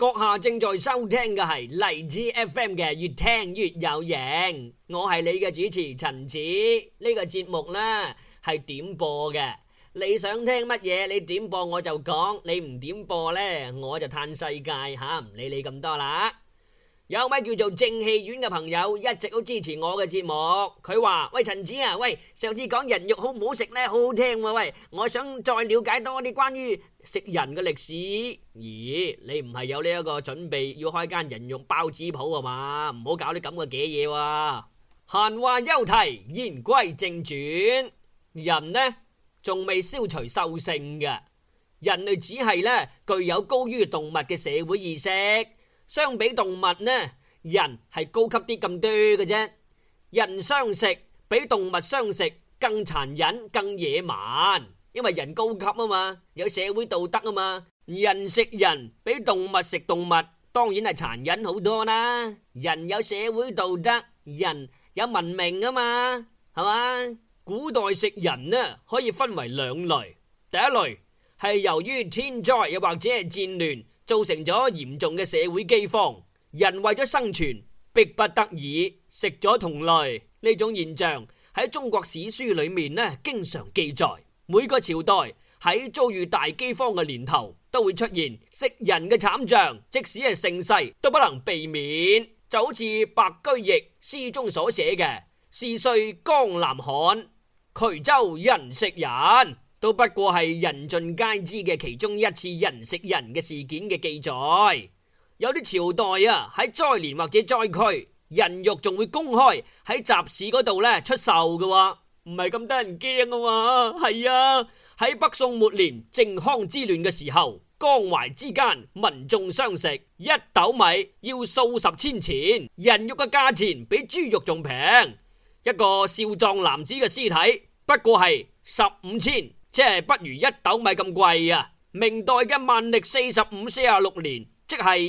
閣下正在收聽嘅係荔枝 FM 嘅越聽越有型，我係你嘅主持陳子。呢個節目呢係點播嘅，你想聽乜嘢你點播我就講，你唔點播呢我就嘆世界吓，唔理你咁多啦。有位叫做正氣丸嘅朋友一直都支持我嘅節目，佢話：喂陳子啊，喂上次講人肉好唔好食呢？好好聽喎，喂我想再了解多啲關於食人嘅歷史。咦，你唔係有呢一個準備要開間人肉包子鋪啊嘛？唔好搞啲咁嘅嘅嘢喎。閒話休提，言歸正傳，人呢仲未消除獸性嘅，人類只係呢具有高於動物嘅社會意識。相比動物呢，人係高級啲咁多嘅啫。人相食比動物相食更殘忍、更野蠻，因為人高級啊嘛，有社會道德啊嘛。人食人比動物食動物，當然係殘忍好多啦。人有社會道德，人有文明啊嘛，係嘛？古代食人呢可以分為兩類，第一類係由於天災又或者係戰亂，造成咗嚴重嘅社會饑荒，人為咗生存，迫不得已食咗同類。呢種現象喺中國史書裏面呢，經常記載。每個朝代喺遭遇大饑荒嘅年頭，都會出現食人嘅慘象，即使係盛世都不能避免。就好似白居易詩中所寫嘅：是歲江南旱，衢州人食人。都不過係人盡皆知嘅其中一次人食人嘅事件嘅記載。有啲朝代啊，喺災年或者災區，人肉仲會公開喺集市嗰度咧出售嘅，唔係咁得人驚啊嘛。係啊，喺北宋末年靖康之亂嘅時候，江淮之間民眾相食，一斗米要數十千錢，人肉嘅價錢比豬肉仲平。一個少壯男子嘅屍體不過係15千。即係不如一斗米咁貴啊！明代嘅萬曆45-46年，即係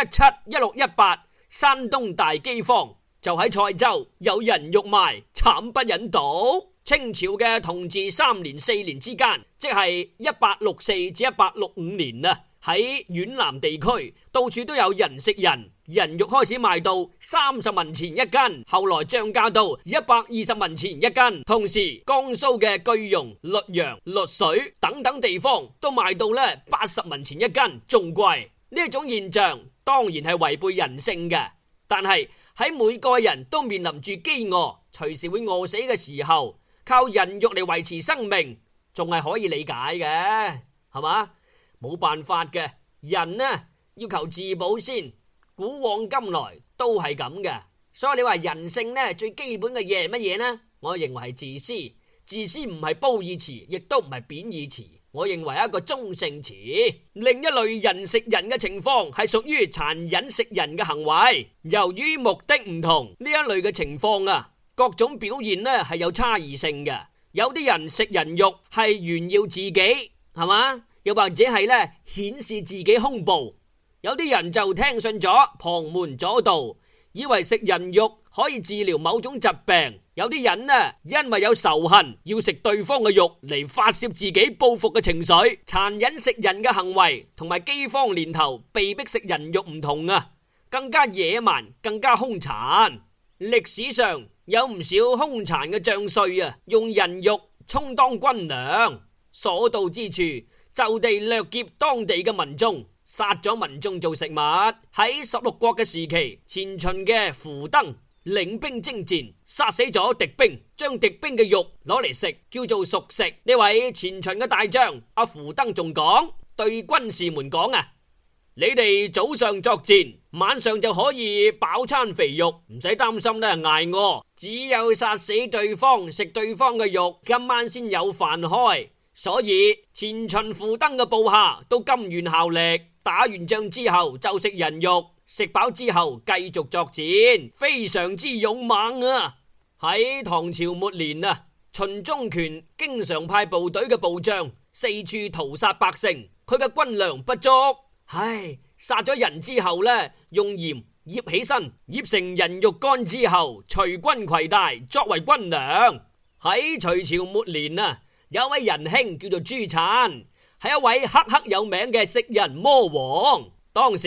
1617-1618，山東大饑荒，就喺蔡州有人肉賣，慘不忍睹。清朝嘅同治3年4年之間，即係1864至1865年啊，喺皖南地區到處都有人食人。人肉開始賣到30文錢一斤，後來漲價到120文錢一斤。同時，江蘇嘅句容、溧陽、溧水等等地方都賣到80文錢一斤，仲貴。呢一種現象當然係違背人性嘅，但係喺每個人都面臨住飢餓，隨時會餓死嘅時候，靠人肉嚟維持生命，仲係可以理解嘅，係嘛？冇辦法嘅，人呢要求自保先。古往今來都係咁嘅，所以你話人性呢最基本嘅嘢係乜嘢呢？我認為係自私。自私唔係褒義詞，亦都唔係貶義詞，我認為係一個中性詞。另一類人食人嘅情況係屬於殘忍食人嘅行為，由於目的唔同，呢一類嘅情況啊，各種表現呢係有差異性嘅。有啲人食人肉係炫耀自己，係嘛？又或者係呢顯示自己胸部。有啲人就聽信咗旁門左道，以為食人肉可以治療某種疾病。有啲人呢，因為有仇恨，要食對方嘅肉嚟發洩自己報復嘅情緒。殘忍食人嘅行為同埋饑荒年頭被逼食人肉唔同啊，更加野蠻，更加兇殘。歷史上有唔少兇殘嘅將帥啊，用人肉充當軍糧，所到之處就地掠劫當地嘅民眾，殺咗民眾做食物。喺16國嘅時期，前秦嘅苻登領兵征戰，殺死咗敵兵，將敵兵嘅肉攞嚟食，叫做熟食。呢位前秦嘅大將阿苻登仲講，對軍士們講啊，你哋早上作戰，晚上就可以飽餐肥肉，唔使擔心咧挨餓。只有殺死對方，食對方嘅肉，今晚先有飯開。所以前秦苻登嘅部下都甘願效力，打完仗之後就食人肉，食飽之後繼續作戰，非常之勇猛啊！喺唐朝末年啊，秦中權經常派部隊嘅部將四處屠殺百姓，佢嘅軍糧不足，殺咗人之後呢，用鹽醃起身，醃成人肉乾之後，隨軍攜帶作為軍糧。喺隋朝末年啊，有一位仁兄叫做朱粲，係一位赫赫有名嘅食人魔王。當時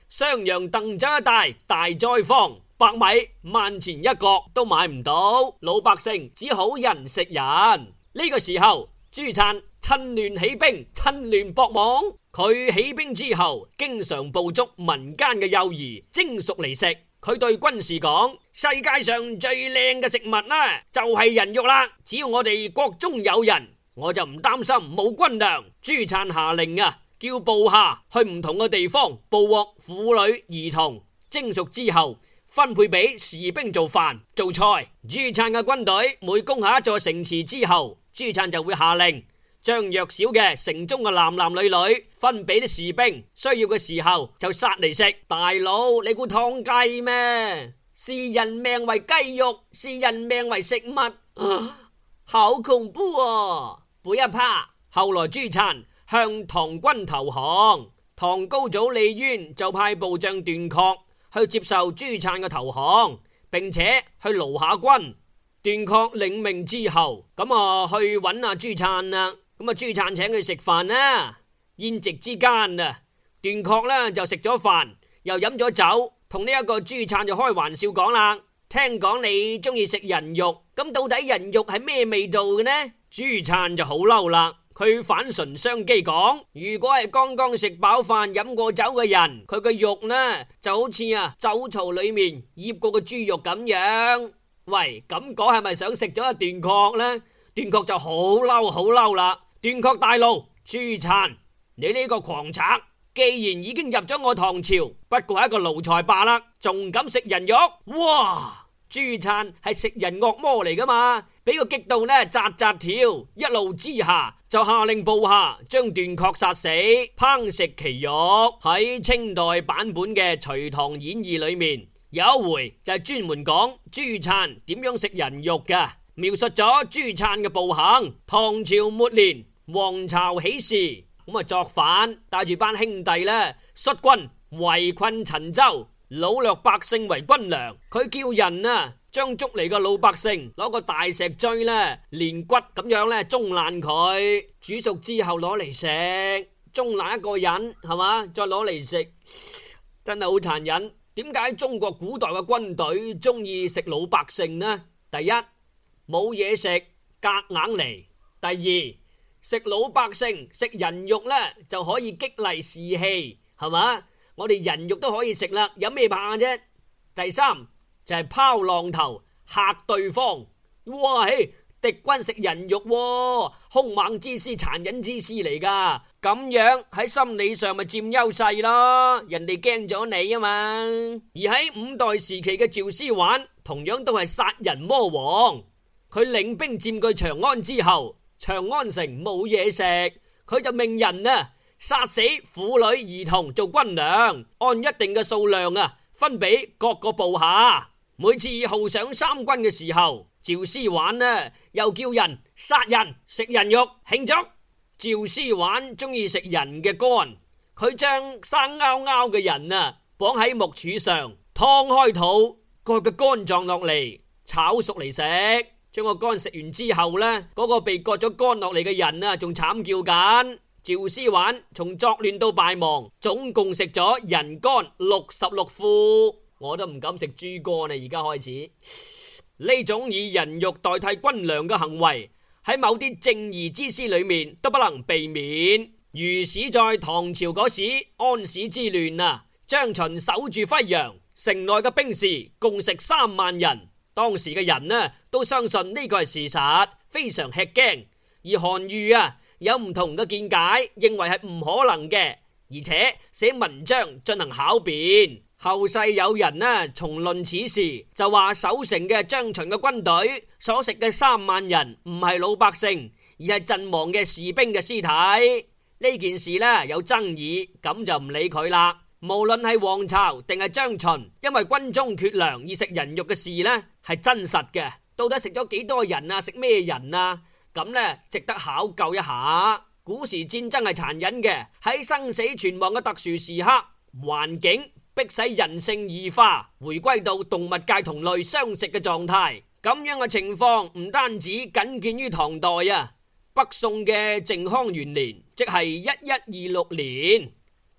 襄陽鄧州一帶大災荒，白米萬錢一角都買唔到，老百姓只好人食人。呢個時候，朱粲趁亂起兵，趁亂搏莽。佢起兵之後，經常捕捉民間嘅幼兒蒸熟嚟食。佢對軍士講：世界上最靚嘅食物呢，就係人肉啦！只要我哋國中有人，我就唔擔心冇軍糧。朱粲下令叫部下去唔同嘅地方捕獲婦女兒童，蒸熟之後分配俾士兵做飯做菜。朱粲嘅軍隊每攻下一座城池之後，朱粲就會下令將弱小嘅城中嘅男男女女分俾啲士兵，需要嘅時候就殺嚟食。大佬，你估劏雞咩？視人命為雞肉，視人命為食物，好恐怖啊！背一趴。後來朱粲向唐軍投降，唐高祖李淵就派部將段確去接受朱粲嘅投降，並且去勞下軍。段確領命之後，去揾朱粲啦。朱粲請佢食飯啦。宴席之間段確就食咗飯，又飲咗酒，同呢一個朱粲就開玩笑講啦：聽講你中意食人肉，咁到底人肉係咩味道嘅呢？朱粲就好嬲啦，佢反唇相譏講：如果係剛剛食飽飯飲過酒嘅人，佢嘅肉呢就好似酒槽裏面醃過嘅豬肉咁樣。喂，咁講係咪想食咗段確呢？段確就好嬲啦。段確大怒：朱粲，你呢個狂賊，既然已經入咗我唐朝，不過係一個奴才罷啦，仲敢食人肉？哇！朱粲係食人惡魔嚟噶嘛，俾個激到扎扎跳，一怒之下就下令部下將段確殺死，烹食其肉。喺清代版本嘅《隋唐演義》裏面有一回就係專門講朱粲點樣食人肉噶，描述咗朱粲嘅暴行。唐朝末年，黃巢起事，作反，帶住班兄弟率軍圍困陳州，擄掠百姓為軍糧。佢叫人將捉嚟嘅老百姓攞個大石錐連骨咁樣中爛佢，煮熟之後攞嚟食，中爛一個人係嘛，再攞嚟食，真係好殘忍。點解中國古代嘅軍隊中意食老百姓呢？第一，冇嘢食，夾硬嚟；第二，食老百姓食人肉就可以激勵士氣，係嘛？我哋人肉都可以食啦，有咩怕啫？第三就係拋浪頭嚇對方。哇，敵軍食人肉，兇猛之師、殘忍之師嚟噶，咁樣喺心理上咪佔優勢咯，人哋驚咗你啊嘛。而喺五代時期嘅趙思玩同樣都係殺人魔王，佢領兵佔據長安之後，長安城冇嘢食，佢就命人殺死婦女兒童做軍糧，按一定嘅數量分俾各個部下。每次號上三軍嘅時候，趙思玩又叫人殺人食人肉慶祝。趙思玩中意食人嘅肝，佢將生勾勾嘅人綁喺木柱上，劏開肚，割個肝臟落嚟炒熟嚟食。將個肝食完之後嗰個被割咗肝落嚟嘅人仲慘叫緊。趙思玩從作亂到敗亡，總共食咗人肝66副。我都唔敢食豬肝啦，而家開始呢種以人肉代替軍糧嘅行為，喺某啲正義之師裏面都不能避免。如史在唐朝嗰時安史之亂張巡守住輝陽城內嘅兵士共食3萬人，當時嘅人都相信呢個係事實，非常吃驚。而韓愈有唔同嘅見解，認為係唔可能嘅，而且寫文章進行巧辯。後世有人重論此事，就話守城嘅張巡嘅軍隊所食嘅3萬人唔係老百姓，而係陣亡嘅士兵嘅屍體。呢件事有爭議，咁就唔理佢啦。無論係黃巢定係張巡，因為軍中缺糧而食人肉嘅事係真實嘅。到底食咗幾多人食咩人咁值得考究一下。古時戰爭係殘忍嘅，喺生死存亡嘅特殊時刻，環境迫使人性異化，回歸到動物界同類相食嘅狀態。咁樣嘅情況唔單止僅見於唐代北宋嘅靖康元年，即係1126年，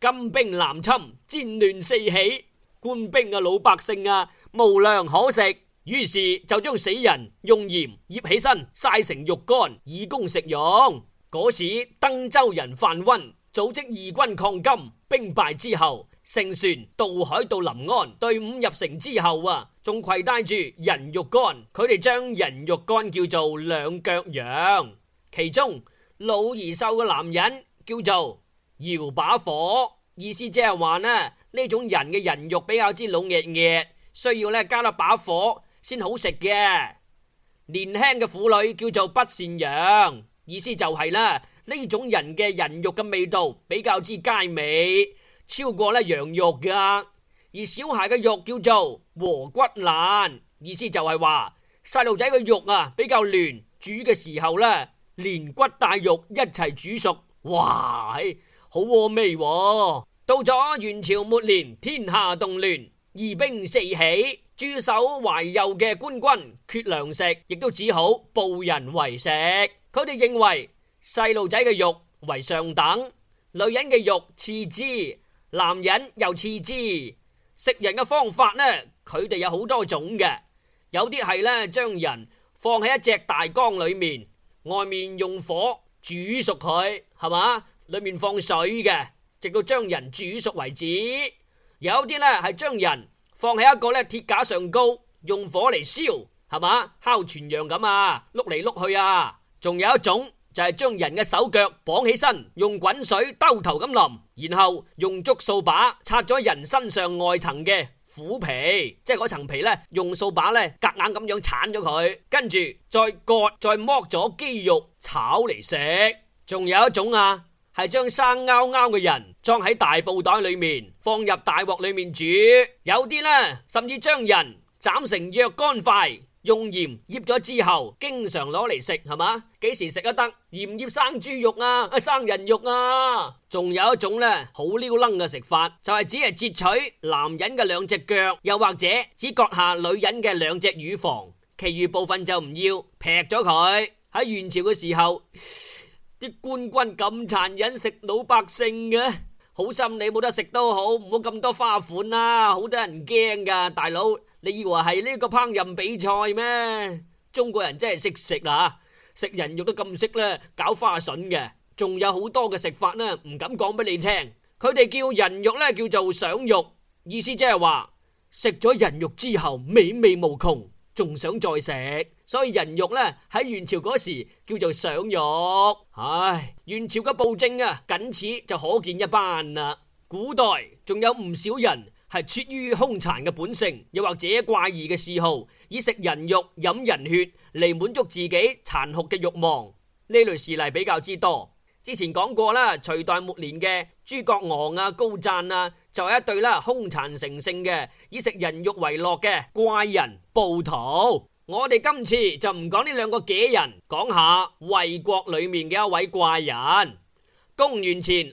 金兵南侵，戰亂四起，官兵老百姓無糧可食，於是就將死人用鹽醃起身，曬成肉乾以供食用。嗰時登州人范溫組織義軍抗金，兵敗之後乘船渡海到臨安，隊伍入城之後仲攜帶住人肉乾，佢哋將人肉乾叫做兩腳羊，其中老而瘦嘅男人叫做搖把火，意思即係話呢種人嘅人肉比較之老熱熱，需要加一把火先好食嘅。年輕嘅婦女叫做不善羊，意思就係呢種人嘅人肉嘅味道比較之佳美，超過羊肉噶。而小孩嘅肉叫做和骨爛，意思就係話細路仔嘅肉比較嫩，煮嘅時候連骨帶肉一齊煮熟，哇，好和味喎。到咗元朝末年，天下動亂，義兵四起，駐守懷柔嘅官軍缺糧食，亦都只好捕人為食。佢哋認為細路仔嘅肉為上等，女人嘅肉次之，男人又次之。食人嘅方法佢哋有好多種嘅，有啲係將人放喺一隻大缸裏面，外面用火煮熟佢，係嘛？裏面放水嘅，直到將人煮熟為止。有啲係將人放喺一個鐵架上高，用火嚟燒，係嘛？烤全羊咁碌嚟碌去。仲有一種就係將人嘅手腳綁起身，用滾水兜頭咁淋，然後用竹掃把拆咗人身上外層嘅虎皮，即係嗰層皮用掃把夾硬咁樣鏟咗佢，跟住再割再剝咗肌肉炒嚟食。仲有一種係將生勾勾嘅人裝喺大布袋裏面，放入大鑊裏面煮。有啲甚至將人斬成若干塊，用鹽醃咗之後，經常攞嚟食，係嘛？幾時食得得？鹽醃生豬肉生人肉仲有一種好撩楞嘅食法，就係只係截取男人嘅兩隻腳，又或者只割下女人嘅兩隻乳房，其餘部分就唔要，劈咗佢。喺元朝嘅時候，啲官軍咁殘忍食老百姓嘅，好心你冇得食都好，唔好咁多花款啦，好多人驚噶。大佬，你以為係呢個烹飪比賽咩？中國人真係識食啦，食人肉都咁識搞花筍嘅。仲有好多嘅食法唔敢講俾你聽。佢哋叫人肉叫做想肉，意思即係話食咗人肉之後美味無窮，仲想再食，所以人肉喺元朝嗰時叫做想肉。唉，元朝嘅暴政僅此就可見一斑啦。古代仲有唔少人係出於兇殘嘅本性，又或者怪異嘅嗜好，以食人肉飲人血嚟滿足自己殘酷嘅慾望。呢類事例比較之多。之前講過啦，隋代末年嘅諸葛昂高讚就係一對兇殘成性嘅以食人肉為樂嘅怪人暴徒。我哋今次就唔講呢兩個杞人，講下衛國裏面嘅一位怪人。公元前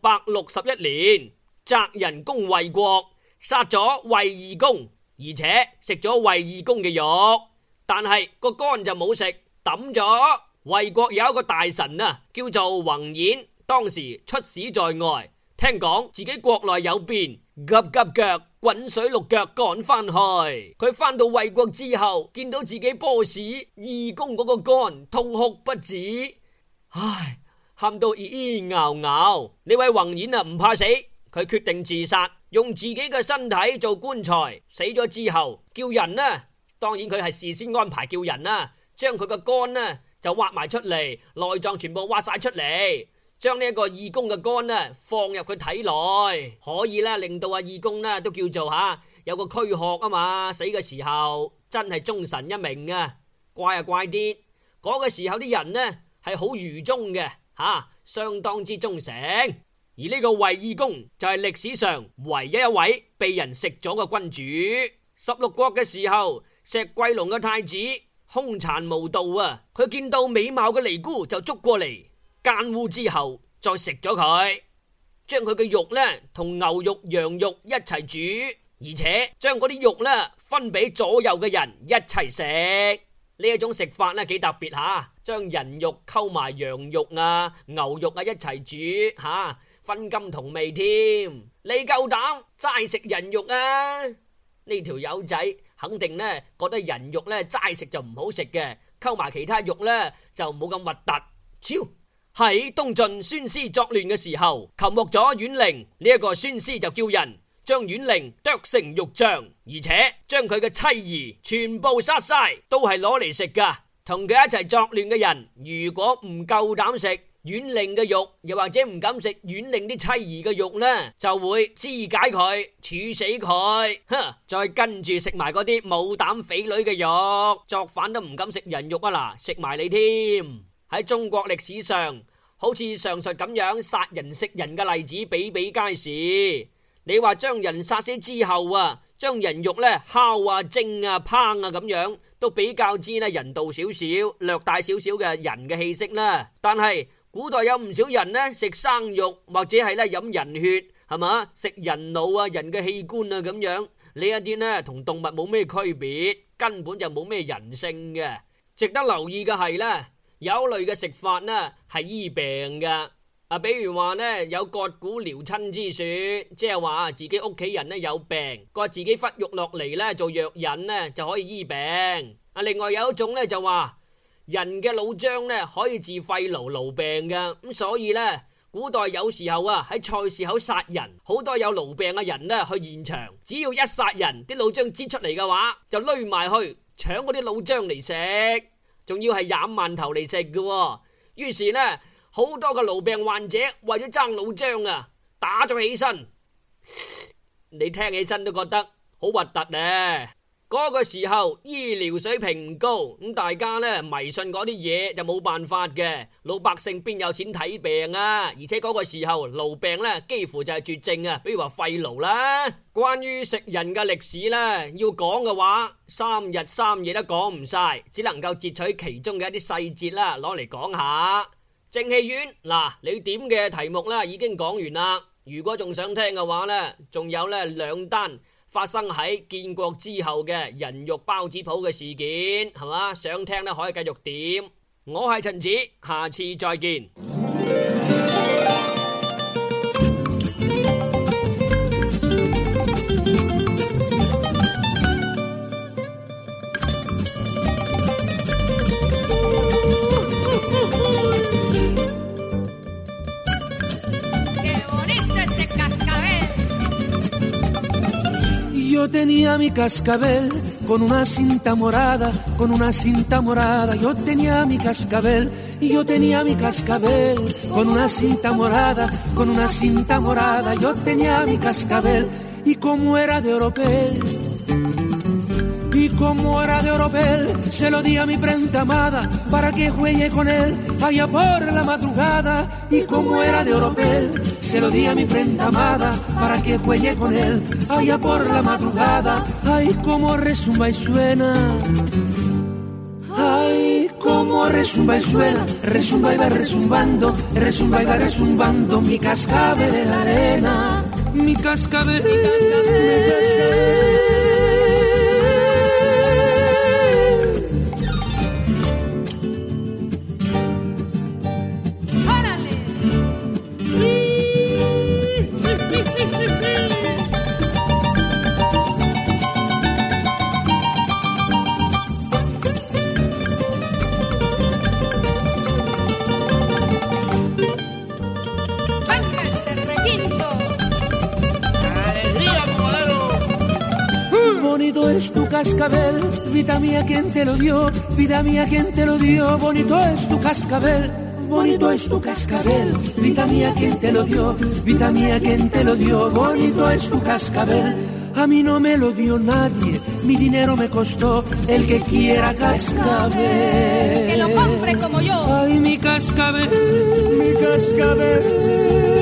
661年，翟人攻衛國，殺咗衛懿公，而且食咗衛懿公嘅肉，但係個肝就冇食，抌咗。衛國有一個大臣叫做宏演，當時出使在外，聽講自己國內有變，急急腳滾水淥腳趕翻去。佢翻到衛國之後，見到自己 boss 懿公嗰個肝，痛哭不止，唉，喊到咿咿咬咬。呢位宏演唔怕死，佢決定自殺，用自己嘅身體做棺材。死咗之後叫人當然佢係事先安排叫人將佢個肝就挖埋出嚟，內臟全部挖晒出嚟，將呢一個懿公嘅肝放入佢體內，可以令到懿公都叫做有個軀殼嘛。死嘅時候真係忠臣一名怪怪啲。嗰個時候啲人係好愚忠嘅相當之忠誠。而呢個衛懿公就係歷史上唯一一位被人食咗嘅君主。16國嘅時候，石貴龍嘅太子兇殘無道佢見到美貌嘅尼姑就捉過嚟奸污之後再食咗佢，將佢嘅肉同牛肉羊肉一齊煮，而且將嗰啲肉分俾左右嘅人一齊食。呢一種食法幾特別將人肉溝埋羊肉牛肉一齊煮分金同味添。你夠膽齋食人肉啊？呢條友仔肯定呢覺得人肉呢齋食就唔好食嘅，溝埋其他肉呢就冇咁核突。超喺東晉孫師作亂嘅時候，擒獲咗阮陵，呢一個孫師就叫人將阮陵剁成肉醬，而且將佢嘅妻兒全部殺晒，都係攞嚟食噶。同佢一齊作亂嘅人，如果唔夠膽食阮陵嘅肉，又或者唔敢食阮陵啲妻兒嘅肉呢，就會肢解佢，處死佢。再跟住食埋嗰啲冇膽匪女嘅肉，作反都唔敢食人肉啊！嗱，食埋你添。喺中國歷史上，好似上述咁樣殺人食人嘅例子比比皆是。你話將人殺死之後啊，將人肉呢烤啊、蒸啊、烹啊咁樣，都比較之呢人道少少，略帶少少嘅人嘅氣息啦。但係古代有唔少人呢食生肉，或者係呢飲人血，係嘛，食人腦啊、人嘅器官啊咁樣，呢一啲呢同動物冇咩區別，根本就冇咩人性嘅。值得留意嘅係呢，有類嘅食法呢係醫病噶。比如話呢有割骨療親之說，即係話自己屋企人呢有病，割自己骨肉落嚟呢做藥引呢就可以醫病。另外有一種呢就話人嘅腦漿呢可以治肺癆病噶，咁所以呢古代有時候啊喺菜市口殺人，好多有癆病嘅人呢去現場，只要一殺人，啲腦漿擠出嚟嘅話，就攞埋去搶嗰啲腦漿嚟食，仲要係廿饅頭嚟食嘅。於是呢好多個癆病患者為咗爭腦漿啊，打咗起身，你聽起身都覺得好核突呢。嗰個時候醫療水平唔高，咁大家呢迷信嗰啲嘢就冇辦法嘅，老百姓邊有錢睇病啊？而且嗰個時候癆病呢幾乎就係絕症啊，比如話肺癆啦。關於食人嘅歷史呢，要講嘅話3日3夜都講唔晒，只能夠截取其中嘅一啲細節啦，攞嚟講下。正戲院嗱，你點嘅題目啦已經講完啦。如果仲想聽嘅話呢，仲有呢2單發生喺建國之後嘅人肉包子鋪嘅事件，係嘛？想聽呢可以繼續點。我係陳子，下次再見。 Yo tenía mi cascabel con una cinta morada, con una cinta morada. Yo tenía mi cascabel y yo tenía mi cascabel con una cinta morada, con una cinta morada. Yo tenía mi cascabel y como era de oropel, y como era de oropel, se lo di a mi prenda amada para que juegue con él allá por la madrugada. Y como era de oropel, se lo di a mi prenda amada para que juegue con él allá por la madrugada. Ay, cómo resumba y suena, ay, cómo resumba y suena, resumba y va resumbando, resumba y va resumbando mi cascabel de la arena, mi cascabel, mi cascabel, mi cascabel. Bonito es tu cascabel, vida mía, ¿quién te lo dio? Vida mía, ¿quién te lo dio? Bonito es tu cascabel, bonito es tu cascabel, vida mía, ¿quién te lo dio? Vida mía, ¿quién te lo dio? Bonito es tu cascabel. A mí no me lo dio nadie, mi dinero me costó, el que quiera cascabel. Que lo compre como yo. Ay, mi cascabel, mi cascabel.